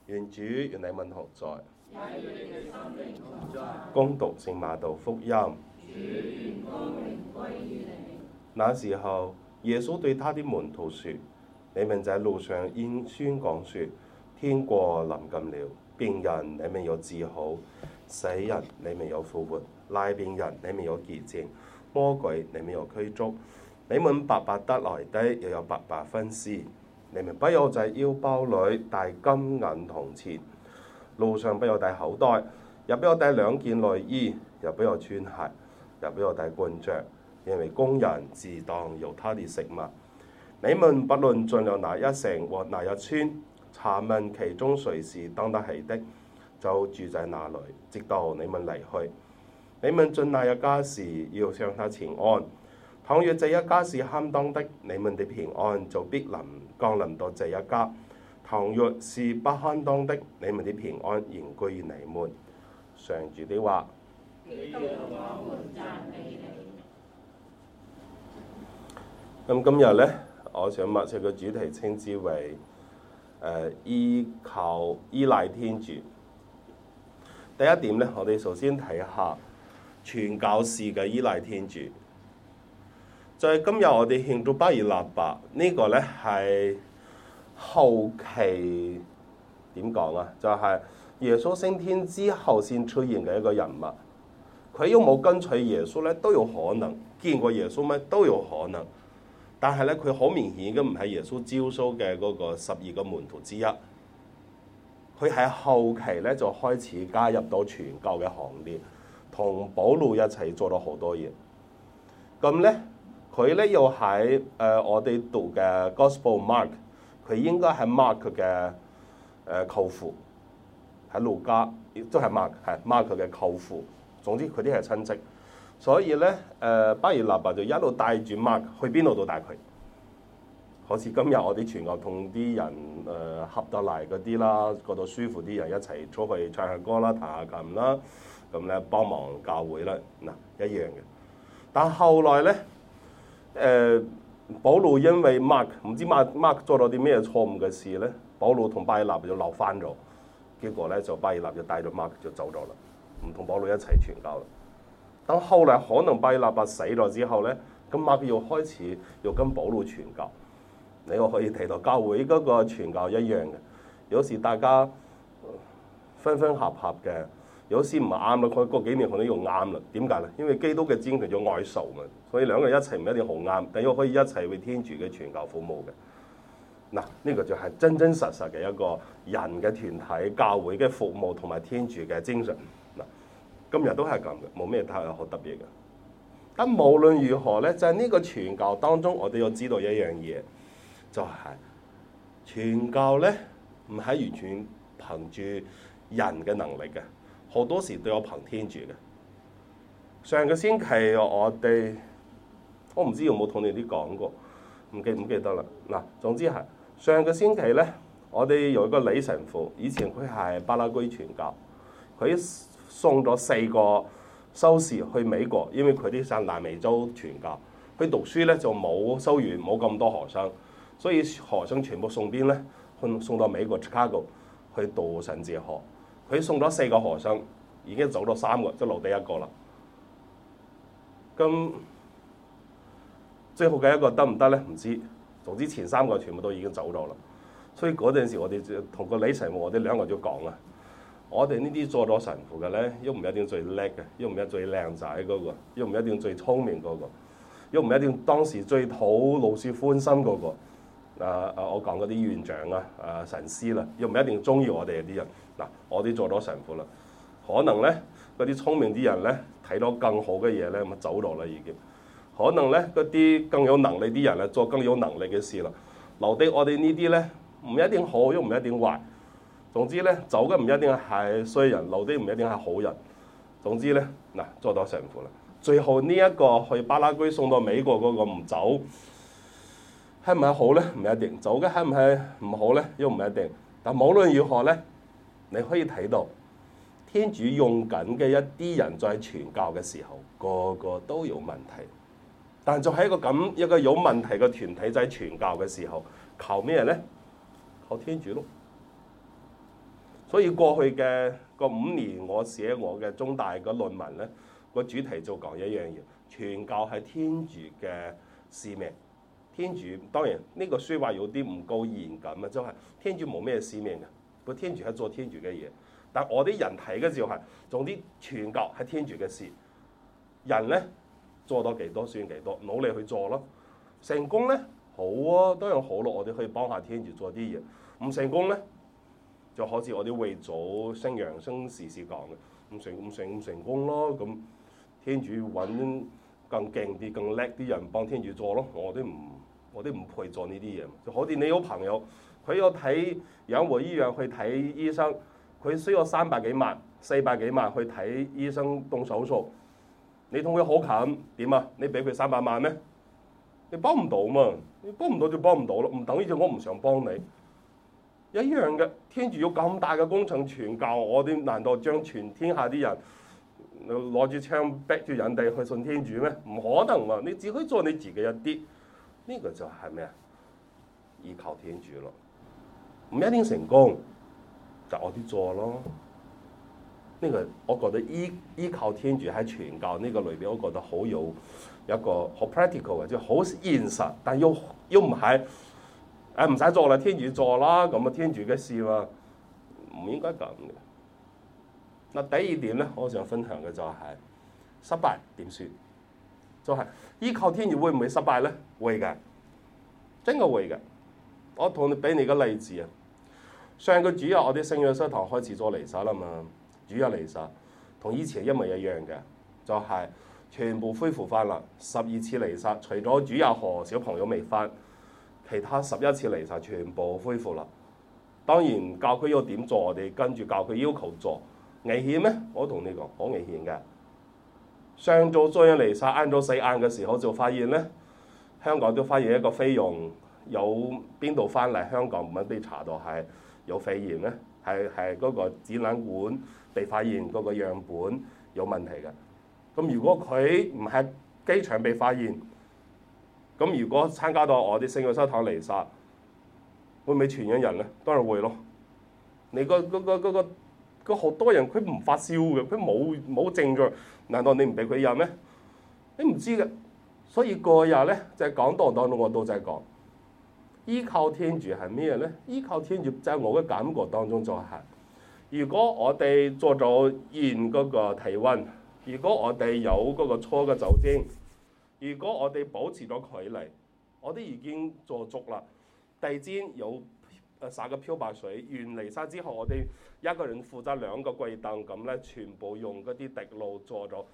願主與你們同在。恭讀聖馬竇福音。那時候，耶穌對他的門徒說：你們在路上應宣講說，天國臨近了。病人你們要治好，死人你們要復活，癩病人你們要潔淨，魔鬼你們要驅逐。你們白白得來的，又有白白分施。你們不要在腰包裏帶金銀銅錢，路上不要帶口袋，也不要帶2件內衣，也不要穿鞋，也不要帶棍杖，因為工人自當有他的食物。你們不論進了哪一城或哪一村，查問其中誰是當得起的，就住在那裏，直到你們離去。你們進那一家時，要向他請安。倘若這一家是堪當的，你們的平安就必降臨到這一家；倘若是不堪當的，你們的平安仍歸於你們。上主的話。咁今日呢，我想默想嘅主題稱之為依賴天主。第一點呢，我哋首先睇下傳教士嘅依賴天主。在今日我哋慶祝巴爾納伯呢個呢，係後期點講啊？就係耶穌升天之後先出現嘅一個人物。佢有冇跟隨耶穌呢？都有可能；見過耶穌咩？都有可能。但係咧，佢好明顯嘅唔係耶穌招數嘅嗰個12個門徒之一。佢喺後期咧就開始加入到傳教嘅行列，同保羅一齊做咗好多嘢。咁咧，佢咧又喺我哋讀嘅 Gospel Mark， 佢應該係 Mark 嘅舅父，喺路加都係 Mark 嘅舅父。總之佢啲係親戚。所以咧，巴爾納伯就一路帶住 Mark 去邊度都帶佢。好似今日我哋傳教同啲人合得嚟嗰啲啦，覺得舒服啲人一齊出去唱下歌啦、彈下琴啦，咁咧幫忙教會啦，嗱一樣嘅。但後來咧，保羅因為 Mark 唔知 Mark 做咗啲咩錯誤嘅事咧，保羅同巴爾納伯就鬧翻咗，結果咧就巴爾納伯就帶咗 Mark 就走咗啦，唔同保羅一齊傳教啦。等後來可能巴爾納伯死咗之後咧，咁馬可又開始又跟保羅傳教。你我可以睇到教會嗰個傳教一樣嘅，有時大家分分合合嘅，有時唔啱啦，佢過幾年可能又啱啦。點解咧？因為基督嘅精神叫愛仇嘛，所以兩個人一齊唔一定好啱，但又可以一齊為天主嘅傳教服務嘅。嗱，呢個就係真真實實嘅一個人嘅團體教會嘅服務同埋天主嘅精神。今日都係咁嘅，冇咩太好特別嘅。但無論如何咧，就係呢個傳教當中，我哋要知道一樣嘢，就係傳教咧唔係完全憑住人嘅能力嘅，好多時都有憑天主嘅。上個星期我唔知有冇同你哋講過，唔記得啦。嗱，總之係上個星期咧，我哋有一個李神父，以前佢係巴拉圭傳教，佢送咗4個修士去美國，因為佢啲上南美洲傳教，去讀書咧就冇修院，冇咁多學生，所以學生全部送邊咧？送到美國 Chicago 去讀神哲學。佢送咗4個學生，已經走咗3個，就留低1個啦。咁最後嘅1個得唔得咧？唔知。總之前3個全部都已經走咗啦。所以嗰陣時我哋就同個李神父，我哋2個就講啦。我哋呢啲做咗神父嘅咧，又唔一定最叻嘅，又唔一定最靚仔嗰個，又唔一定最聰明嗰個，又唔一定當時最討老師歡心嗰個。我講嗰啲院長啊、神師啦，又唔一定中意我哋啲人。嗱，我哋做咗神父啦，可能咧嗰啲聰明啲人咧睇到更好嘅嘢咧，咁走咗啦已經。可能咧嗰啲更有能力啲人咧做更有能力嘅事啦，留低我哋呢啲咧唔一定好，又唔一定壞。總之咧，走嘅唔一定係衰人，留啲唔一定係好人。總之咧，嗱，做到神父啦。最後呢一個去巴拉圭送到美國嗰個唔走，係唔係好咧？唔一定。走嘅係唔係唔好咧？又唔一定。但無論如何咧，你可以睇到天主用緊嘅一啲人在傳教嘅時候，個個都有問題。但就喺一個有問題嘅團體在傳教嘅時候，靠咩咧？靠天主咯。 所以過去嘅個5年，我寫我嘅中大嘅論文咧，個主題就講一樣嘢：傳教係天主嘅使命。天主當然呢個説話有啲唔夠嚴謹啊，就係天主冇咩使命嘅，個天主係做天主嘅嘢。但我啲人睇嘅時候係，總之傳教係天主嘅事，人咧做到幾多算幾多，努力去做咯。成功咧好啊，當然好咯，我哋可以幫下天主做啲嘢。唔成功咧，就好似我啲會祖聖楊生時時講嘅，唔成功咯。咁天主揾更勁啲、更叻啲人幫天主做咯。我哋唔配做呢啲嘢。就好似你有朋友，佢要睇養和醫院去睇醫生，佢需要300幾萬、400幾萬去睇醫生動手術。你同佢好近點啊？你俾佢300萬咩？你幫唔到嘛？你幫唔到就幫唔到咯，唔等於就我唔想幫你。一樣嘅，天主有咁大嘅工程傳教，我哋難道將全天下啲人攞住槍逼住人哋去信天主咩？唔可能嘛！你只可以做你自己一啲，呢個就係咩啊？依靠天主咯，唔一定成功，就我哋做咯。呢個我覺得依靠天主喺傳教呢個裏邊，我覺得好有一個好 practical 嘅，即係好現實，但又唔係唔使做啦，天主做啦，咁啊天主嘅事嘛，唔應該咁嘅。嗱，第二點咧，我想分享嘅就係失敗點算？就係依靠天主會唔會失敗咧？會嘅，真係會嘅。我同你俾你個例子啊，上個主日我哋聖約瑟堂開始咗彌撒啦嘛。主日彌撒同以前一模一樣嘅，就係全部恢復翻啦。12次彌撒，除咗主日和小朋友未翻，其他11次彌撒全部恢復啦。當然教區要點做，我哋跟住教區要求做。危險咩？我同你講，好危險嘅。上晝中央彌撒晏咗4晏嘅時候就發現咧，香港都發現一個菲傭有邊度翻嚟香港，唔係被查到係有肺炎咧，係嗰個展覽館被發現嗰個樣本有問題嘅。咁如果佢唔係機場被發現，咁如果參加到我哋聖約瑟堂彌撒，會唔會傳染人咧？當然會咯。你個好多人佢唔發燒嘅，佢冇症狀，難道你唔俾佢入咩？你唔知嘅。所以個日咧就係講道當中我都在講，依靠天主係咩咧？依靠天主就係我嘅感覺當中就係，如果我哋做咗驗嗰個體温，如果我哋有嗰個搓嘅酒精，如果我哋保持咗距離，我哋已經做足啦。第二天有灑個漂白水，完彌撒之後，我哋一個人負責2個櫃燈咁咧，全部用嗰啲滴露做咗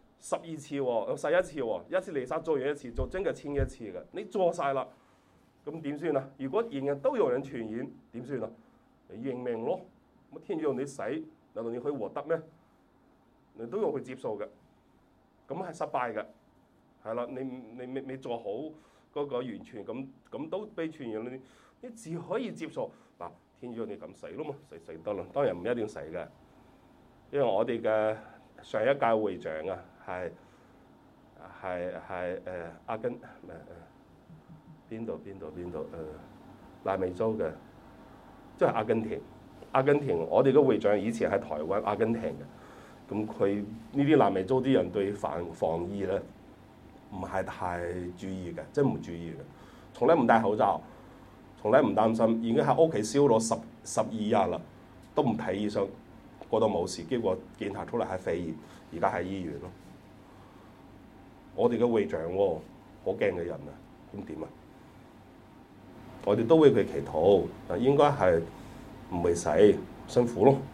12次喎，11次喎，一次彌撒做完一次，做真嘅清一次嘅。你做晒啦，咁點算啊？如果人人都有人傳染，點算啊？你認命咯，咁天主要你死，難道你可以獲得咩？你都要去接受嘅，咁係失敗嘅，係啦，你未做好嗰個完全咁都被傳染，你只可以接受嗱，天主要你咁死咯嘛，死得啦，當然唔一定死嘅，因為我哋嘅上一屆會長啊，係阿根邊度南美洲嘅，即係阿根廷，我哋嘅會長以前喺台灣阿根廷嘅，咁佢呢啲南美洲啲人對防疫咧唔係太注意嘅，真唔注意嘅，從來唔戴口罩，從來唔擔心，已經喺屋企燒咗12日啦，都唔睇醫生，覺得冇事，結果檢查出嚟係肺炎，而家喺醫院咯。我哋嘅會長喎，好驚嘅人啊，咁點啊？我哋都為佢祈禱，但應該係唔會死，辛苦咯。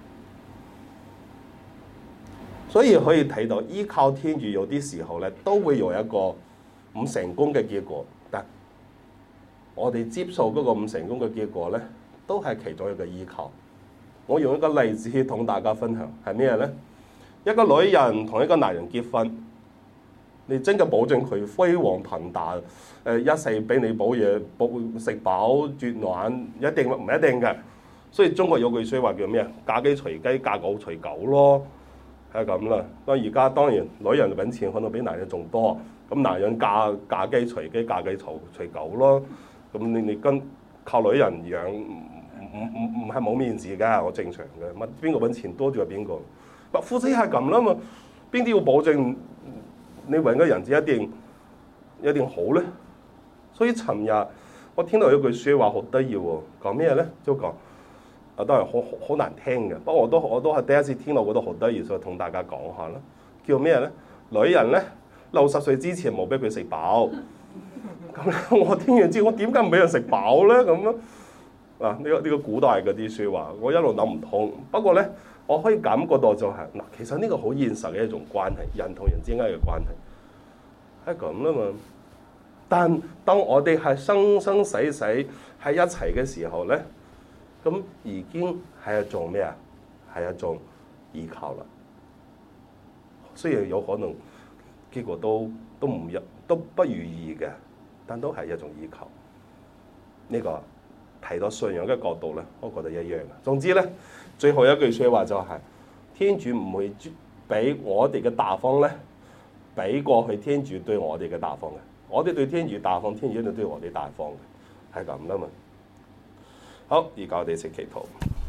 所以可以睇到，依靠天主有啲時候咧，都會有一個唔成功嘅結果。但我哋接受嗰個唔成功嘅結果咧，都係其中一個依靠。我用一個例子同大家分享，係咩咧？一個女人同一個男人結婚，你真嘅保證佢輝煌騰達，一世俾你保嘢，食飽絕暖，一定唔一定嘅。所以中國有句説話叫咩啊？嫁雞隨雞，嫁狗隨狗咯。係咁啦，而家當然女人揾錢可能比男人仲多，咁男人嫁雞隨雞，嫁雞隨狗咯。咁你跟靠女人養唔係冇面子㗎，我正常嘅。乜邊個揾錢多就係邊個。夫妻係咁啦嘛，邊啲要保證你揾嘅人一定好咧？所以尋日我聽到一句説話好得意喎，講咩咧？就講啊，當然好難聽嘅，不過我都係第一次聽到，覺得好得意，所以同大家講下啦。叫咩咧？女人咧60歲之前冇俾佢食飽。咁我聽完之後，我點解唔俾人食飽咧？咁啊？啊！呢個古代嗰啲説話，我一路諗唔通。不過咧，我可以感覺到就係嗱，其實呢個好現實嘅一種關係，人同人之間嘅關係係咁啦嘛。但當我哋係生生死死喺一齊嘅時候咧，咁已經係一種咩啊？係一種依靠啦。雖然有可能結果都不如意嘅，但都係一種依靠。呢個提到信仰嘅角度咧，我覺得一樣嘅。總之咧，最後一句説話就係：天主唔會俾我哋嘅大方咧，俾過去天主對我哋嘅大方嘅。我哋對天主大方，天主一定對我哋大方嘅，係咁啦嘛。好，而家我哋一齊祈禱。